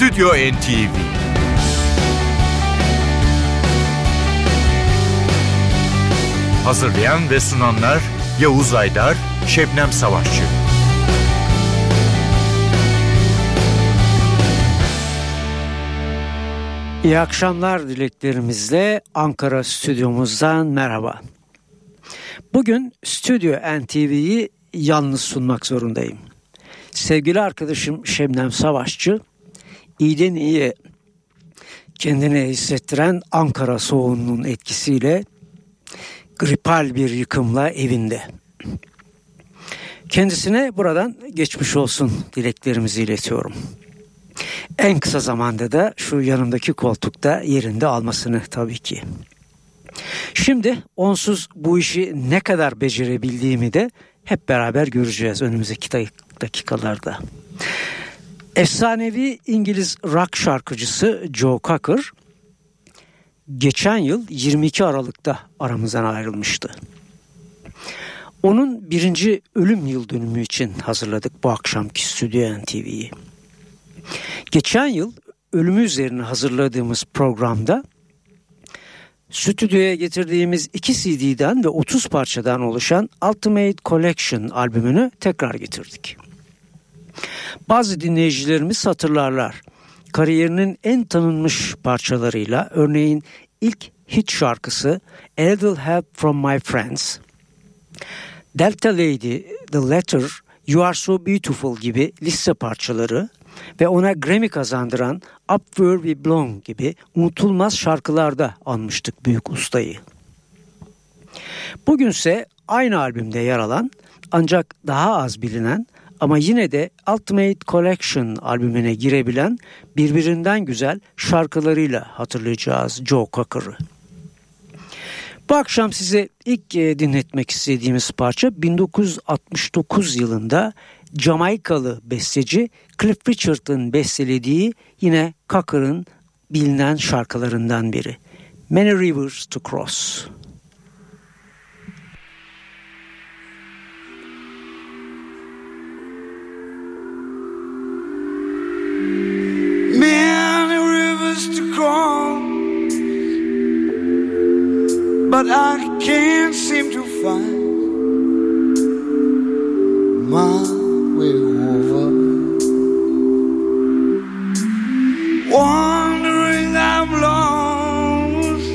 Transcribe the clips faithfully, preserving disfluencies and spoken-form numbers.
Stüdyo N T V. Hazırlayan ve sunanlar Yavuz Aydar, Şebnem Savaşçı. İyi akşamlar dileklerimizle Ankara stüdyomuzdan merhaba. Bugün Stüdyo N T V'yi yalnız sunmak zorundayım. Sevgili arkadaşım Şebnem Savaşçı, iyiden iyiye kendini hissettiren Ankara soğuğunun etkisiyle gripal bir yıkımla evinde. Kendisine buradan geçmiş olsun dileklerimizi iletiyorum. En kısa zamanda da şu yanımdaki koltukta yerinde almasını tabii ki. Şimdi onsuz bu işi ne kadar becerebildiğimi de hep beraber göreceğiz önümüzdeki dakikalarda. Efsanevi İngiliz rock şarkıcısı Joe Cocker geçen yıl yirmi iki Aralık'ta aramızdan ayrılmıştı. Onun birinci ölüm yıl dönümü için hazırladık bu akşamki Stüdyo N T V'yi. Geçen yıl ölümü üzerine hazırladığımız programda stüdyoya getirdiğimiz iki C D'den ve otuz parçadan oluşan Ultimate Collection albümünü tekrar getirdik. Bazı dinleyicilerimiz hatırlarlar. Kariyerinin en tanınmış parçalarıyla, örneğin ilk hit şarkısı A Little Help From My Friends, Delta Lady, The Letter, You Are So Beautiful gibi liste parçaları ve ona Grammy kazandıran Up Where We Belong gibi unutulmaz şarkılarda anmıştık büyük ustayı. Bugünse aynı albümde yer alan ancak daha az bilinen ama yine de Ultimate Collection albümüne girebilen birbirinden güzel şarkılarıyla hatırlayacağız Joe Cocker'ı. Bu akşam size ilk dinletmek istediğimiz parça bin dokuz yüz altmış dokuz yılında Jamaikalı besteci Cliff Richard'ın bestelediği yine Cocker'ın bilinen şarkılarından biri. Many Rivers to Cross. Many rivers to cross, but I can't seem to find my way over. Wandering I'm lost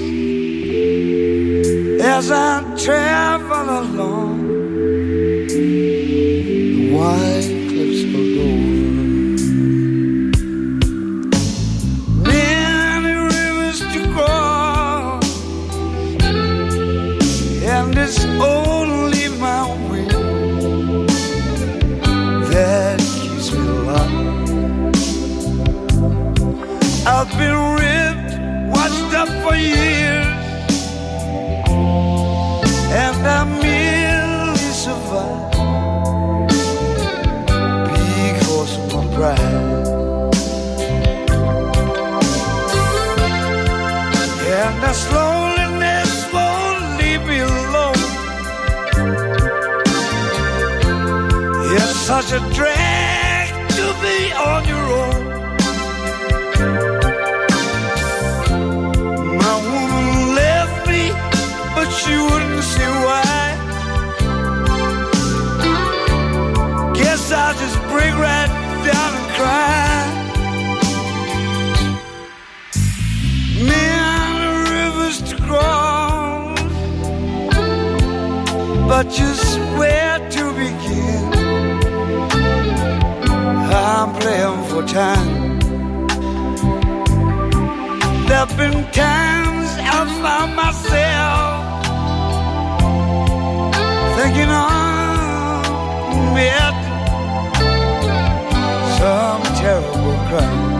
as I travel along the white cliffs of Dover. Many rivers to cross, and it's only my will that keeps me alive. I've been ripped, washed up for years, and I merely survive because of my pride. And this loneliness won't leave me alone. It's such a drag to be on your own. My woman left me, but she wouldn't see why. Guess I'll just break right down and cry. Many rivers to cross, but just where to begin? I'm playing for time. There've been times I found myself thinking I'm met some terrible crime.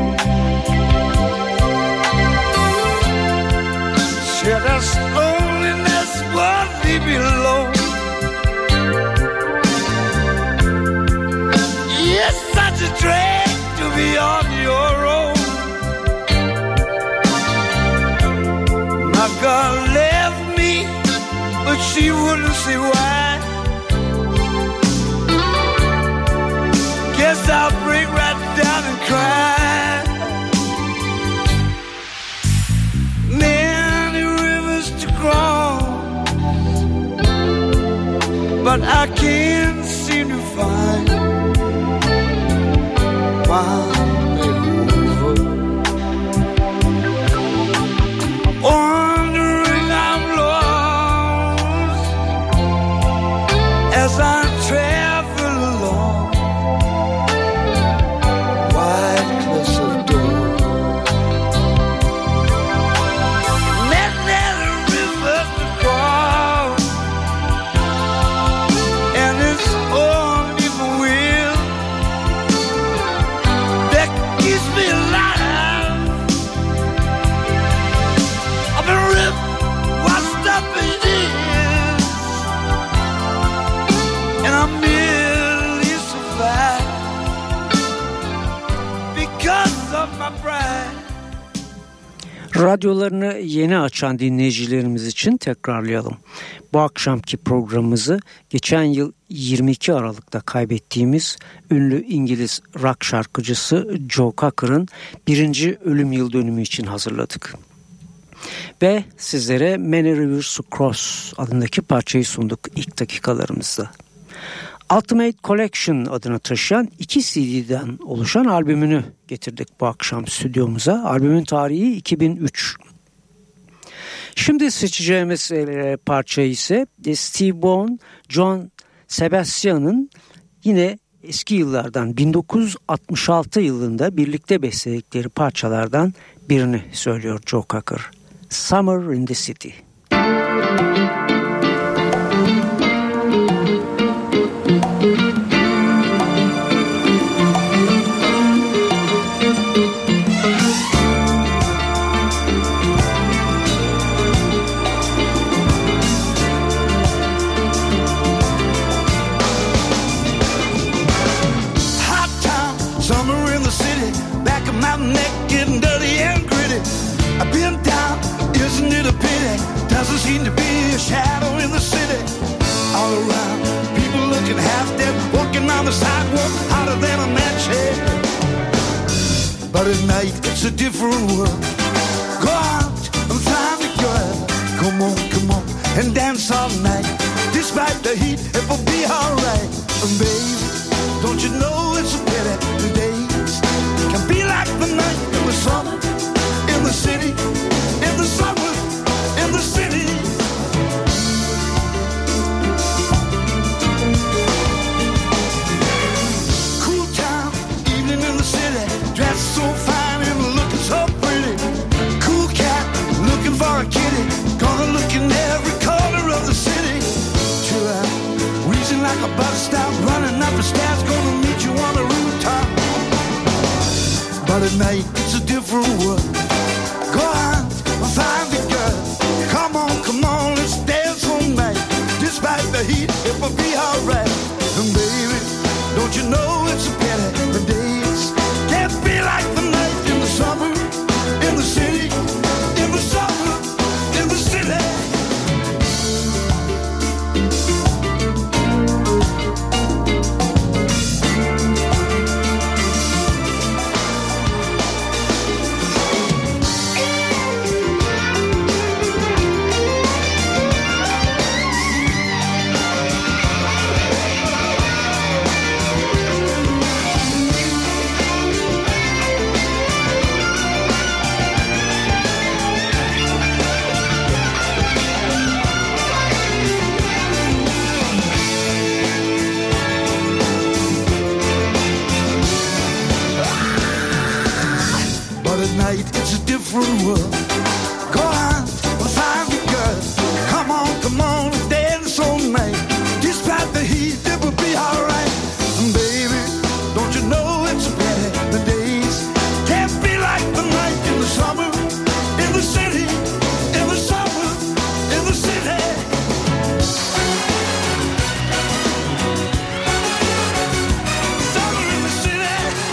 Said this loneliness won't leave me alone. It's such a drag to be on your own. My girl left me, but she wouldn't see why. Guess I'll break right down and cry. my pride. Radyolarını yeni açan dinleyicilerimiz için tekrarlayalım. Bu akşamki programımızı geçen yıl yirmi iki Aralık'ta kaybettiğimiz ünlü İngiliz rock şarkıcısı Joe Cocker'ın birinci ölüm yıl dönümü için hazırladık. Ve sizlere Many Rivers to Cross adındaki parçayı sunduk ilk dakikalarımızda. Ultimate Collection adını taşıyan iki C D'den oluşan albümünü getirdik bu akşam stüdyomuza. Albümün tarihi iki bin üç. Şimdi seçeceğimiz parça ise Steve Vaughan, John Sebastian'ın yine eski yıllardan bin dokuz yüz altmış altı yılında birlikte besteledikleri parçalardan birini söylüyor Joe Cocker. Summer in the City. Doesn't seem to be a shadow in the city. All around, people looking half dead, walking on the sidewalk, hotter than a match head. But at night, it's a different world. Go out and find a girl. Come on, come on, and dance all night. Despite the heat, it will be alright. And baby, don't you know it's a pity the days can be like the night in the summer, in the city, in the summer, in the city. Cool town, evening in the city, dressed so fine and looking so pretty. Cool cat, looking for a kitty, gonna look in every corner of the city. Chill out, wheezing like a bus stop, running up the stairs, gonna meet you on the rooftop. But at night, it's a different world. Go out, find the girl. Come on, come on, let's dance all night. Despite the heat, it will be alright. And baby, don't you know it's a pity the days can't be like the night in the summer, in the city, in the summer, in the city. It's a different world. Go out and find the girl. Come on, come on, dance all night. Despite the heat, it will be alright. And baby, don't you know it's a pity the days can't be like the night in the summer, in the city, in the summer, in the city. Summer in the city.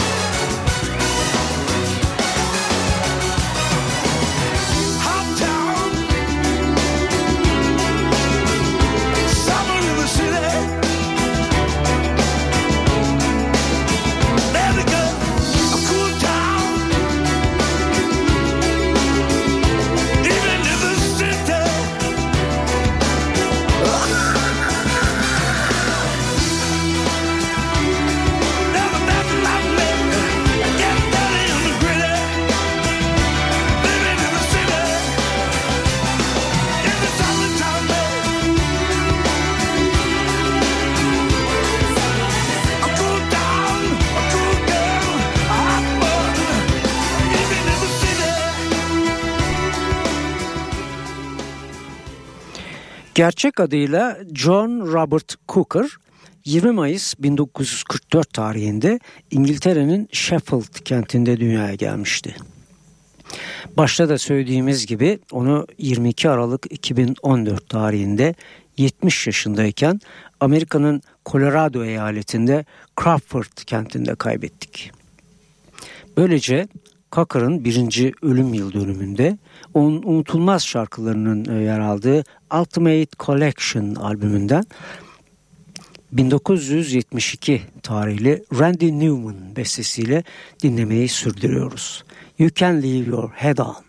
Gerçek adıyla John Robert Cooker, yirmi Mayıs bin dokuz yüz kırk dört tarihinde İngiltere'nin Sheffield kentinde dünyaya gelmişti. Başta da söylediğimiz gibi onu yirmi iki Aralık iki bin on dört tarihinde yetmiş yaşındayken Amerika'nın Colorado eyaletinde Crawford kentinde kaybettik. Böylece Cocker'ın birinci ölüm yıl dönümünde onun unutulmaz şarkılarının yer aldığı Ultimate Collection albümünden bin dokuz yüz yetmiş iki tarihli Randy Newman bestesiyle dinlemeyi sürdürüyoruz. You Can Leave Your Head On.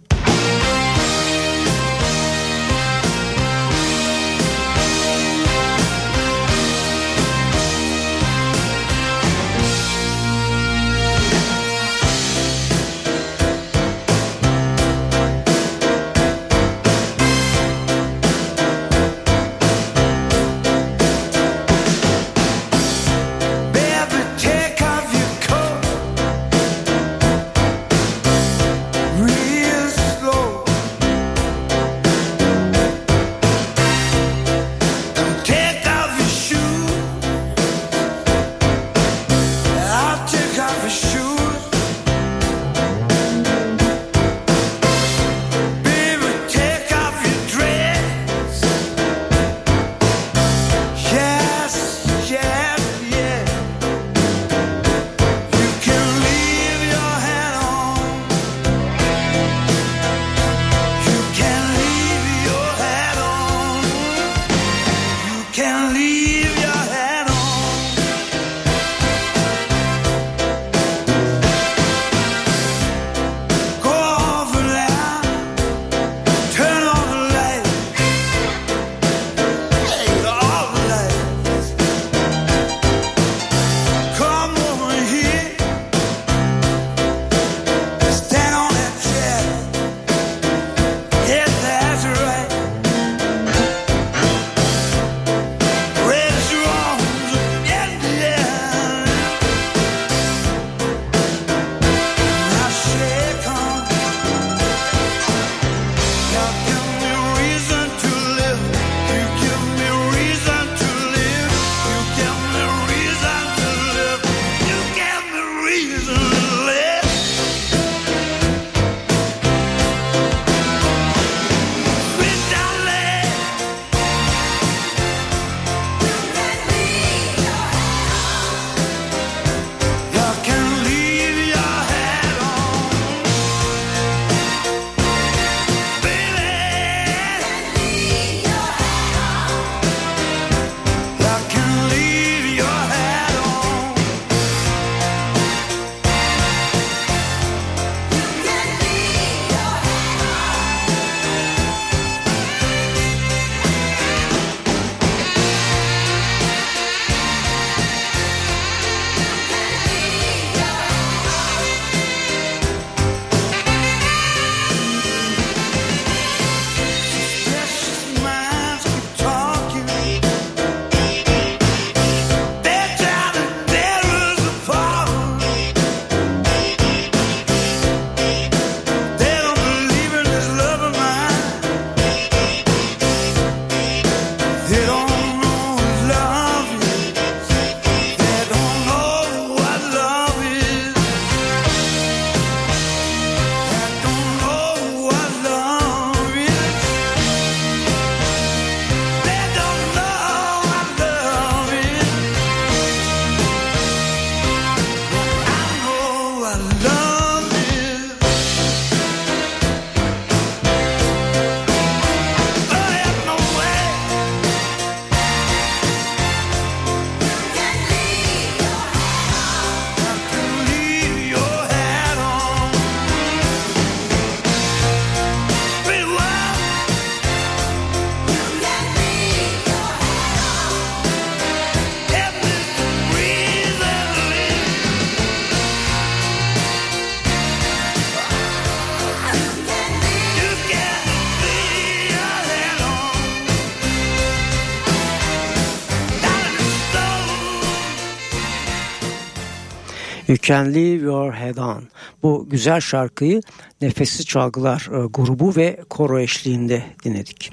You Can Leave Your Head On. Bu güzel şarkıyı Nefesli Çalgılar e, grubu ve koro eşliğinde dinledik.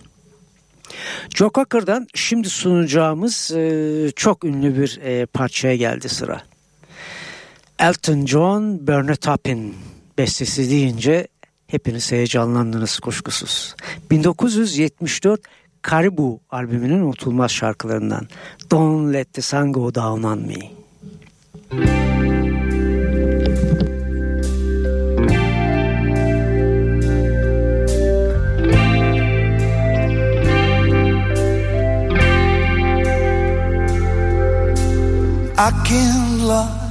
Joe Cocker'dan şimdi sunacağımız e, çok ünlü bir e, parçaya geldi sıra. Elton John, Burn It Up'in bestesi deyince hepiniz heyecanlandınız kuşkusuz. bin dokuz yüz yetmiş dört Caribou albümünün unutulmaz şarkılarından Don't Let the Sun Go Down on Me. I can't lie.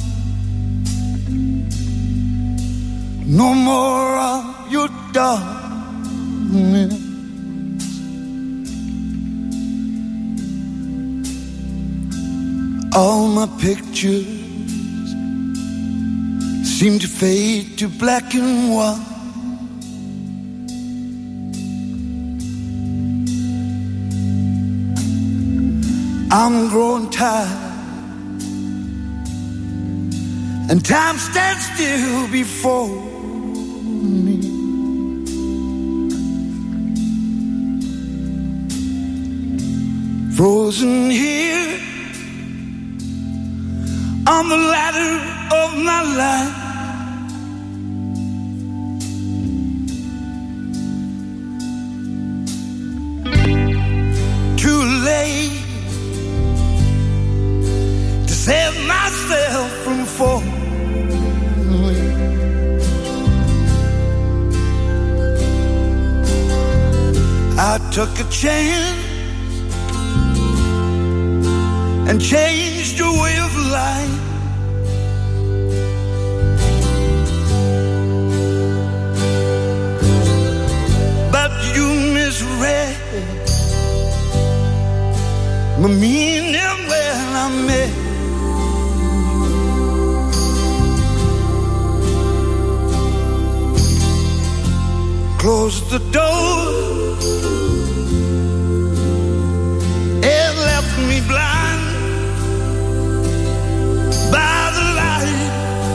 No more of your darkness. All my pictures seem to fade to black and white. I'm growing tired, and time stands still before me. Frozen here on the ladder of my life. Too late to save myself from falling. I took a chance and changed your way of life. But you misread my meaning when I met you. Closed the door and left me blind by the light.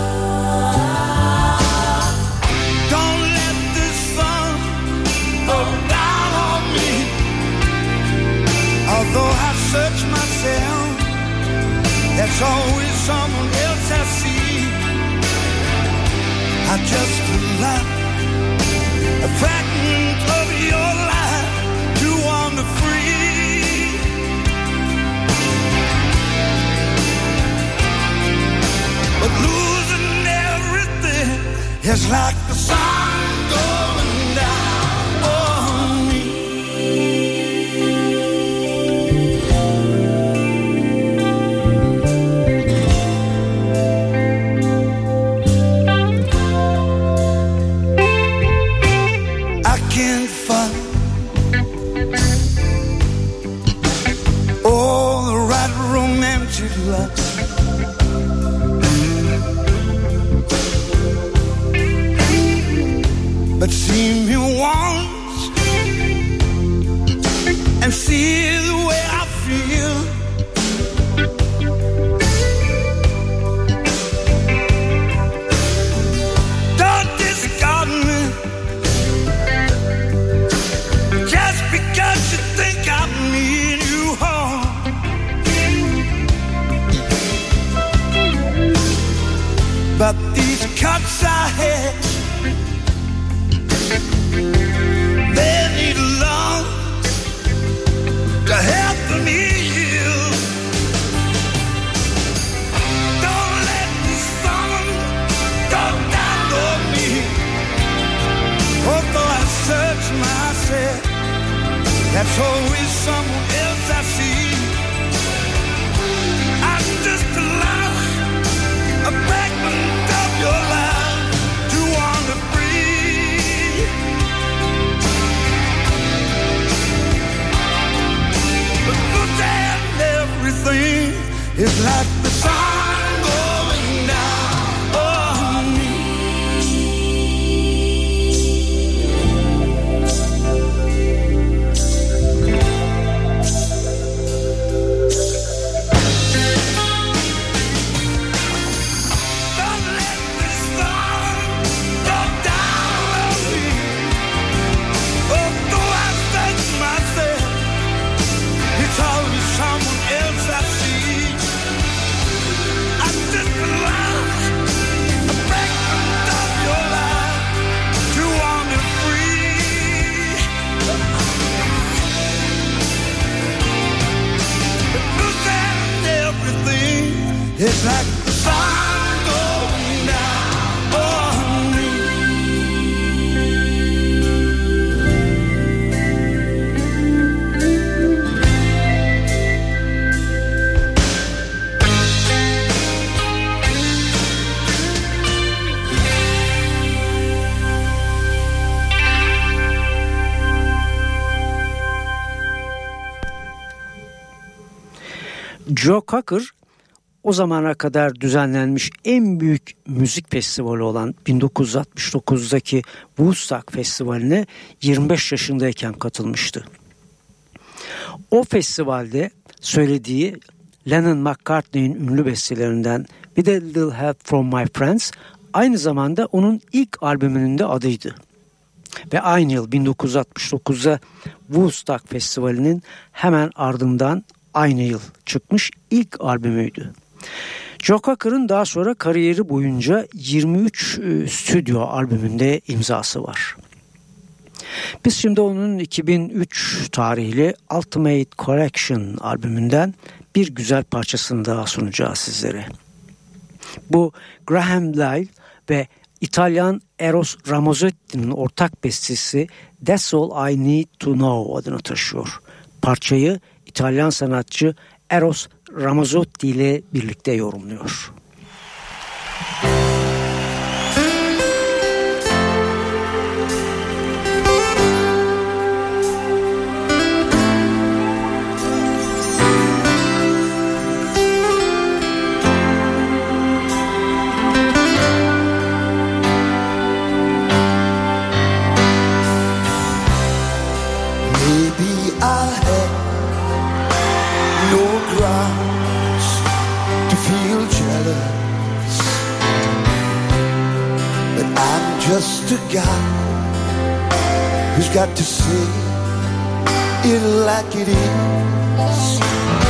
Don't let the sun go down on me. Although I search myself, there's always someone else I see. I just like a fragment of your life to wander free. But losing everything is like the sun going down on me. I can't find all the right romantic love. But see me once and see the way I feel. Don't discard me just because you think I mean you harm. But these cuts I had, they need love to help me heal. Don't let the sun go down on me. Although I search myself, that's always someone else I see. I'm just a lie, a fragment of your life to wander free. But look at everything is like the sun going down on me. Joe Cocker o zamana kadar düzenlenmiş en büyük müzik festivali olan bin dokuz yüz altmış dokuzdaki Woodstock Festivali'ne yirmi beş yaşındayken katılmıştı. O festivalde söylediği Lennon McCartney'in ünlü bestelerinden "With a Little Help from My Friends" aynı zamanda onun ilk albümünün de adıydı. Ve aynı yıl bin dokuz yüz altmış dokuzda Woodstock Festivali'nin hemen ardından aynı yıl çıkmış ilk albümüydü. Joe Cocker'ın daha sonra kariyeri boyunca yirmi üç e, stüdyo albümünde imzası var. Biz şimdi onun iki bin üç tarihli Ultimate Collection albümünden bir güzel parçasını daha sunacağız sizlere. Bu Graham Lyle ve İtalyan Eros Ramazzetti'nin ortak bestesi That's All I Need To Know adını taşıyor. Parçayı İtalyan sanatçı Eros Ramazzotti ile birlikte yorumluyor. Just a guy who's got to say it like it is.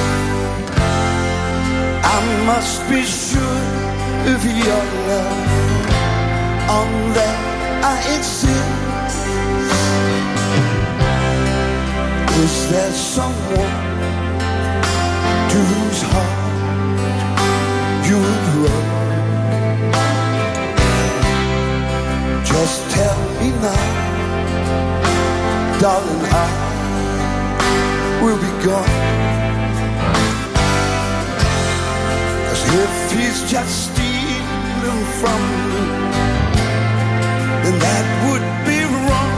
I must be sure of your love, on that I insist. Is there someone to whose heart you would run? Just tell me now, darling, I will be gone. 'Cause if he's just stealing from me, then that would be wrong.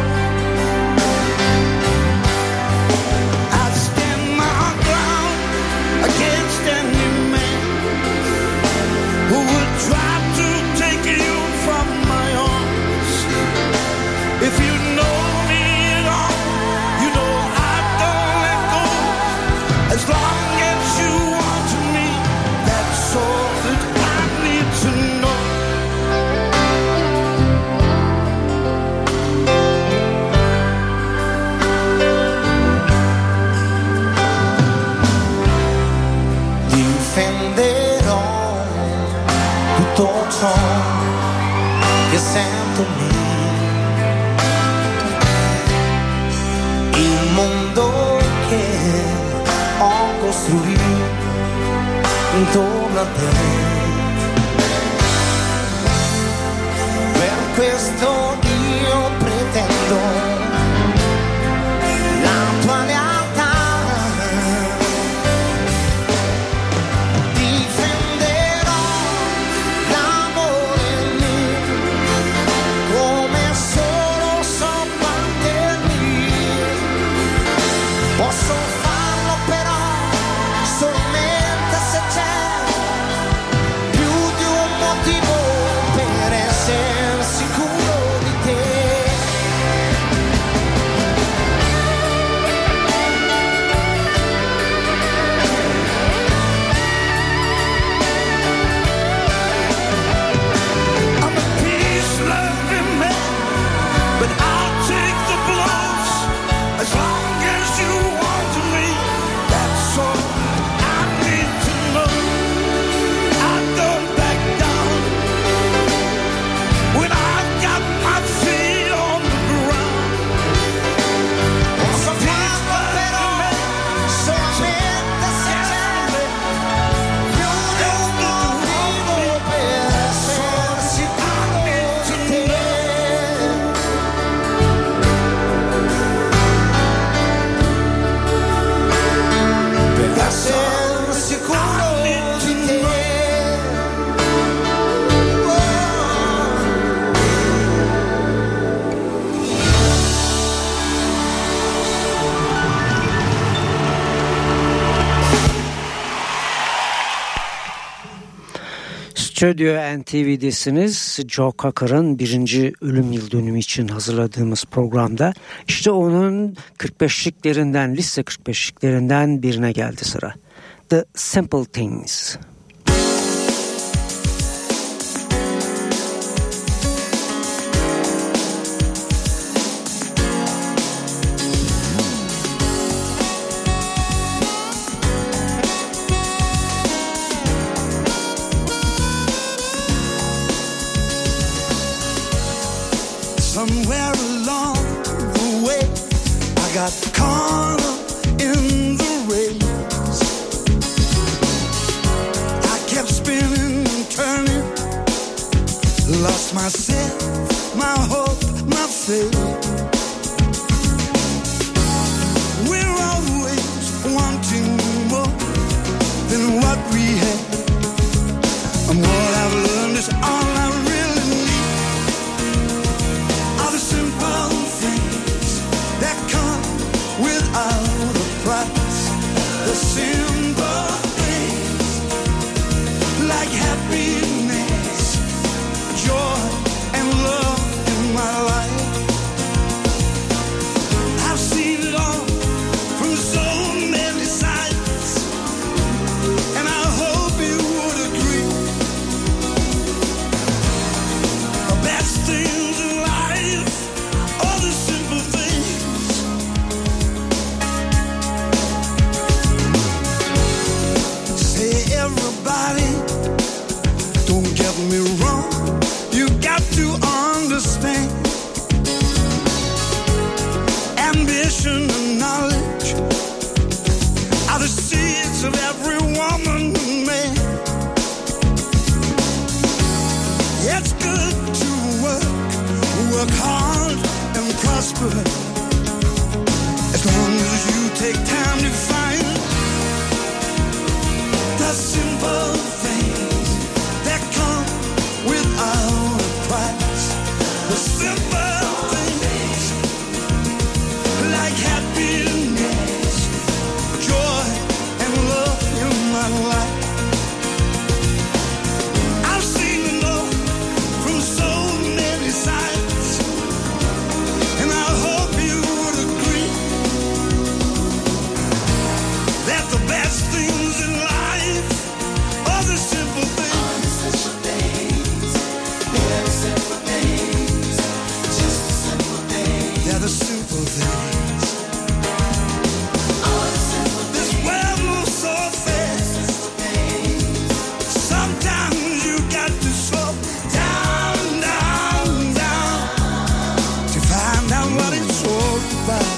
I'd stand my ground against any man who would try to take you from my arms. If you know me at all, you know I don't let go. As long as you want me, that's all that I need to know. Difenderò tutto ciò che sento mio. Il mondo che ho costruito intorno a te. Per questo io pretendo la tua lealtà. Difenderò l'amore mio come solo so battermi. Posso farlo però solamente se c'è più di un motivo per essere sicuro di te. Stüdyo N T V'desiniz. Joe Cocker'ın birinci ölüm yıl dönümü için hazırladığımız programda işte onun kırk beşliklerinden, liste kırk beşliklerinden birine geldi sıra. The Simple Things. Somewhere along the way, I got caught up in the race. I kept spinning and turning, lost myself, my hope, my faith. We're always wanting more than what we have, and what I've learned is all I really need. All the simple things that come without a price. The simple things like happiness, joy, and love in my life. I've seen it all from so many sides, and I hope you would agree. The best things in life are the simple things. Say everybody, don't get me wrong, you got to understand. Ambition and knowledge are the seeds of every woman and man. It's good to work, work hard and prosper, as long as you take time to find the simple things that come without a price. The simple things like happiness, joy, and love in my life. I've seen it all from so many sides, and I hope you would agree that the best things in life are the simple things. They're the simple things. This world moves so fast. Sometimes you got to slow down, down, down to find out what it's all about.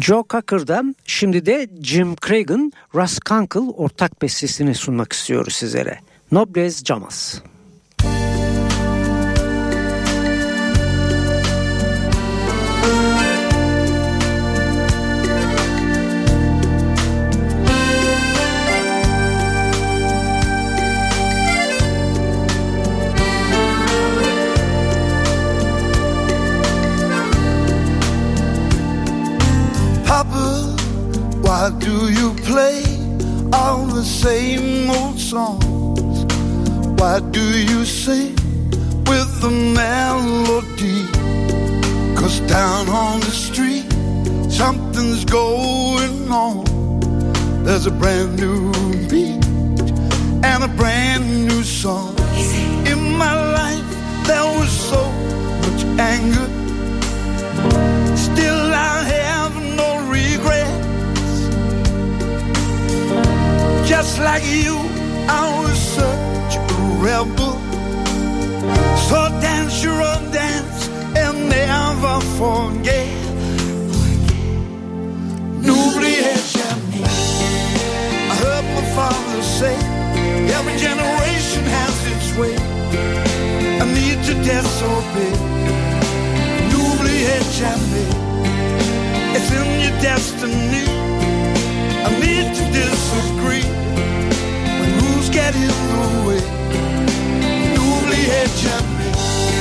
Joe Cocker'dan şimdi de Jim Craig'in Russ Kunkel ortak bestesini sunmak istiyoruz sizlere. Nobles Llamas. Why do you play all the same old songs? Why do you sing with the melody? 'Cause down on the street something's going on. There's a brand new beat and a brand new song. In my life there was so much anger. Still I have no regret. Just like you, I was such a rebel. So dance your own dance and never forget. N'oubliez jamais. I heard my father say, every generation has its way. I need to disobey. N'oubliez jamais. It's in your destiny. I need to disagree. When rules get in the way, n'oubliez jamais.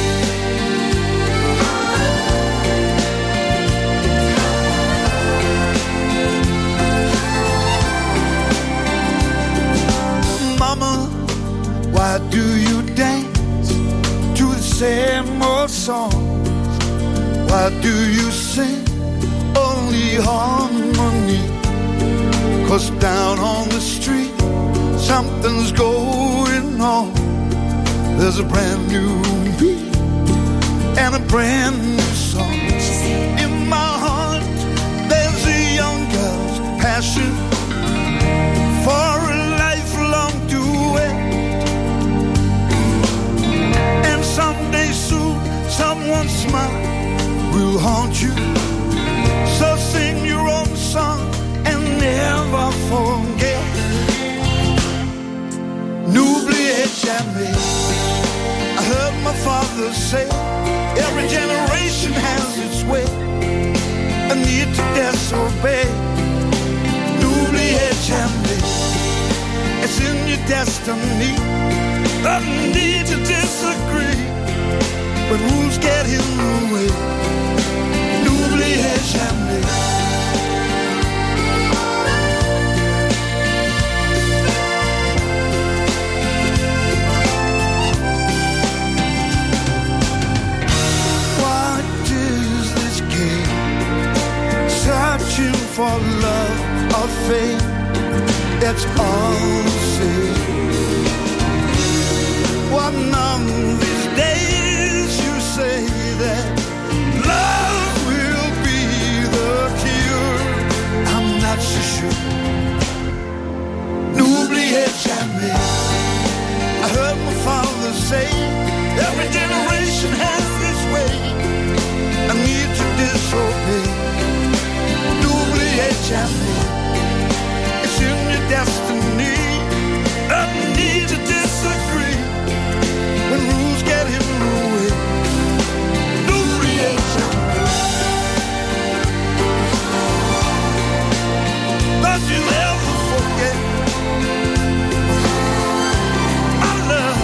Mama, why do you dance to the same old songs? Why do you sing only harmony? 'Cause down on the street something's going on. There's a brand new beat and a brand new song. In my heart there's a young girl's passion for a lifelong duet. And someday soon someone's smile will haunt you. So sing your own song and never forget. N'oubliez jamais. I heard my father say, every generation has its way. I need to disobey. N'oubliez jamais. It's in your destiny. I need to disagree. When rules get in the way. N'oubliez jamais. Searching for love or fame, that's all the same. One of these days you say that love will be the cure. I'm not so sure. N'oubliez jamais. I heard my father say, every generation has its way. I need to disobey. N'oubliez jamais. It's in your destiny. I need to disagree. When rules get in the way. N'oubliez jamais. Don't you ever forget my love.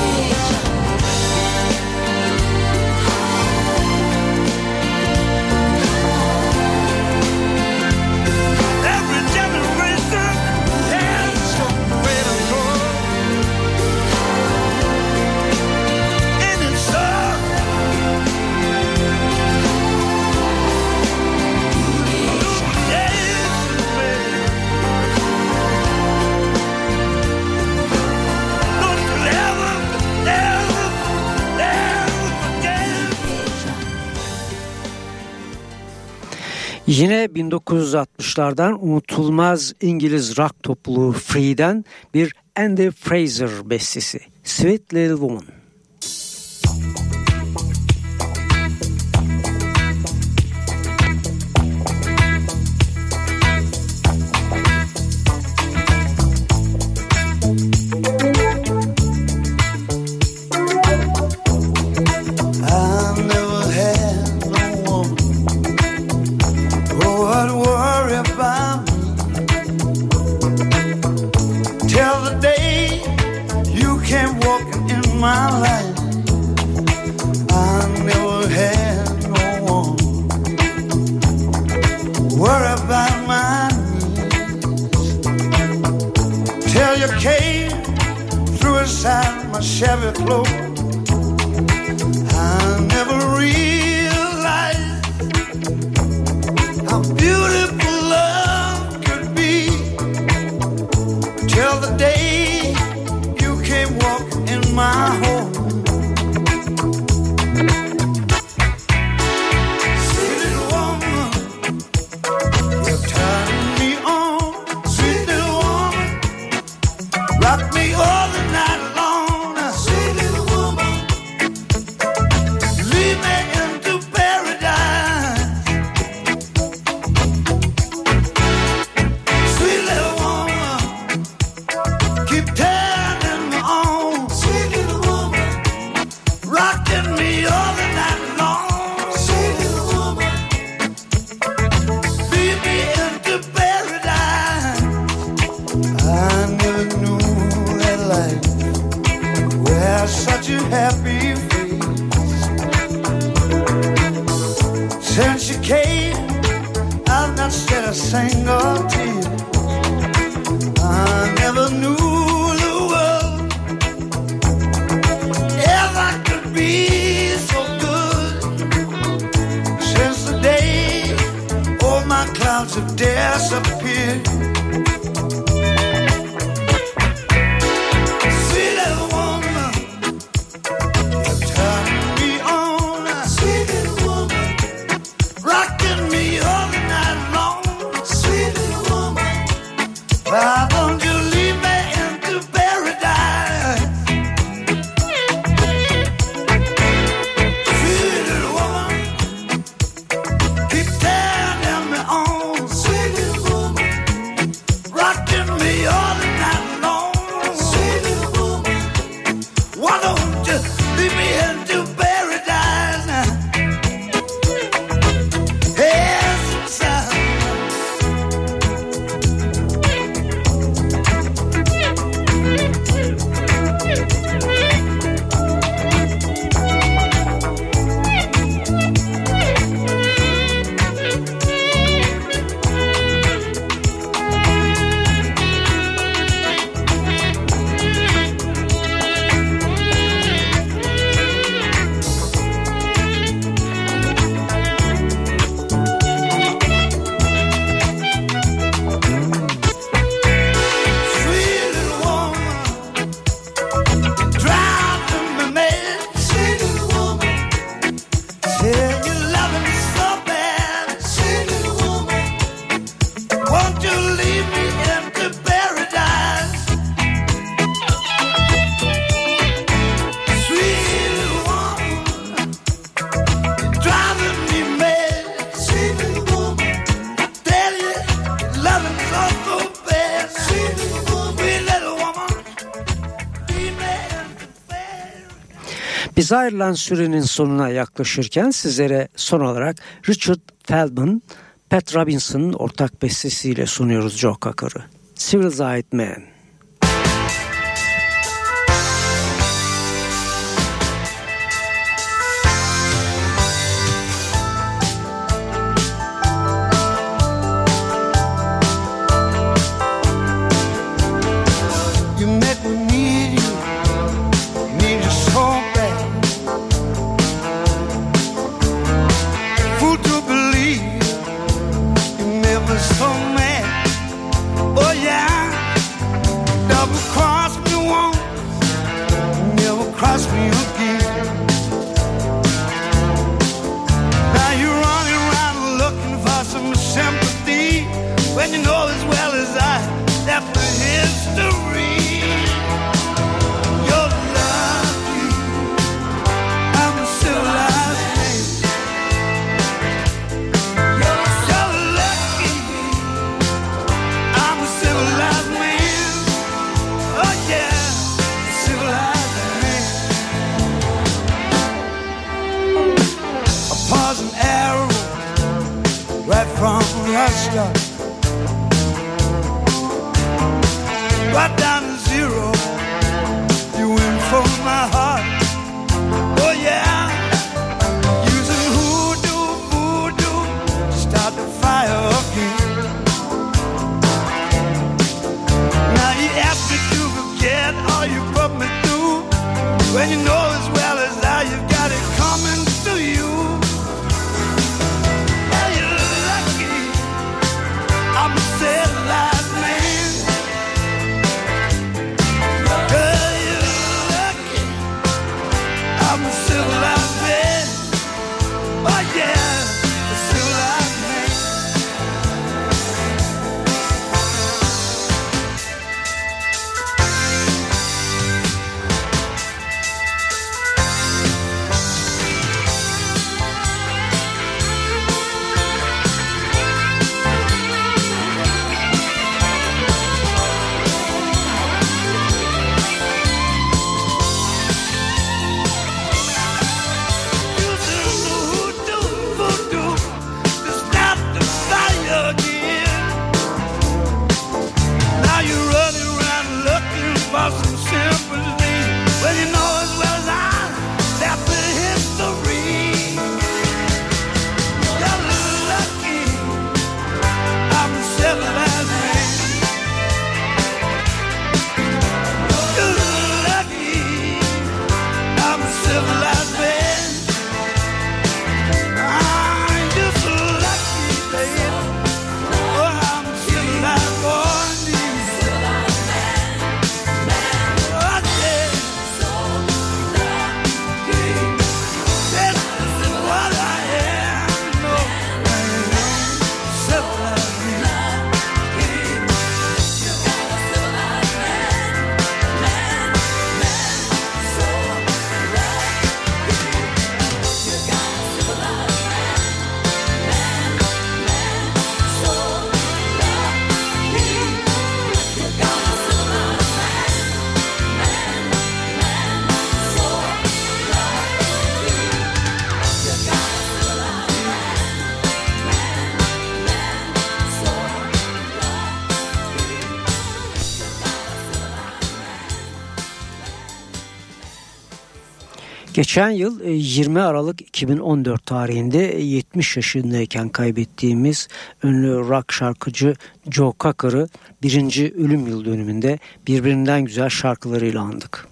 Every generation has somewhere to go. And it's all Don't you ever, ever, ever forget. Yine bin dokuz yüz altmışlardan unutulmaz İngiliz rock topluluğu Free'den bir Andy Fraser bestesi, Sweet Little Woman. came walking in my life, I never had no one worry about my needs. Till you came through inside my Chevy cloak, I never realized how beautiful love could be. Till the day you came walking in my home. Sweet little woman, you're turning me on. Sweet little woman, rock me all the night long. Sweet little woman, lead me into paradise. Sweet little woman, keep turning me on. Sweet little woman, rocking me all the night long. Sweet little woman, lead me into paradise. I never knew that life wears such a happy face. Since you came, I've not shed a single tear. I never knew the world ever could be so good. Since the day all my clouds have disappeared. Sweet little woman, you're turning me on. Sweet little woman, rocking me all the night long. Sweet little woman, why don't you lead me into paradise? Sweet little woman, keep turning me on. Sweet little woman, rocking me all the night long. Sweet little woman, why don't you lead me into paradise now? Yes, sir. Sweet little woman, driving me mad. Sweet little woman, tell you loving me so bad. Sweet little woman, won't you lead me into paradise? Sweet little woman, driving me mad. Sweet little woman, tell you loving me so so bad. Sweet little woman, sweet little woman, lead me into paradise. Biz ayrılan sürenin sonuna yaklaşırken sizlere son olarak Richard Feldman, Pat Robinson'ın ortak bestesiyle sunuyoruz Joe Cocker'ı. Civilized Man. You make me need you, need you so bad. Fool to believe you made me so mad. Oh yeah, double cross me once, never cross me again. Now you're running around looking for some sympathy when you know as well as I that the history. You're lucky, I'm a civilized man. You're so lucky, I'm a civilized man. Oh yeah, civilized man. A poison arrow right from Russia, right down to zero. You went when you know as well as I you've got it coming to you. Well, you're lucky I'm a civilized man. Girl, you're lucky I'm a civilized man. Oh yeah, a civilized man. Geçen yıl yirmi Aralık iki bin on dört tarihinde yetmiş yaşındayken kaybettiğimiz ünlü rock şarkıcı Joe Cocker'ı birinci ölüm yıl dönümünde birbirinden güzel şarkılarıyla andık.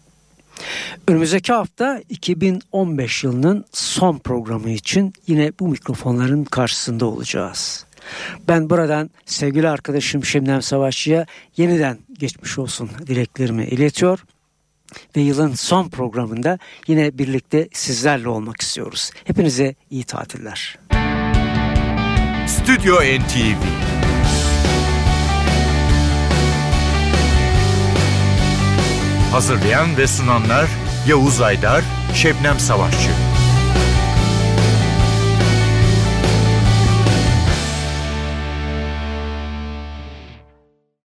Önümüzdeki hafta iki bin on beş yılının son programı için yine bu mikrofonların karşısında olacağız. Ben buradan sevgili arkadaşım Şebnem Savaşçı'ya yeniden geçmiş olsun dileklerimi iletiyor. Ve yılın son programında yine birlikte sizlerle olmak istiyoruz. Hepinize iyi tatiller. Stüdyo N T V Hazırlayan ve sunanlar Yavuz Aydar, Şebnem Savaşçı.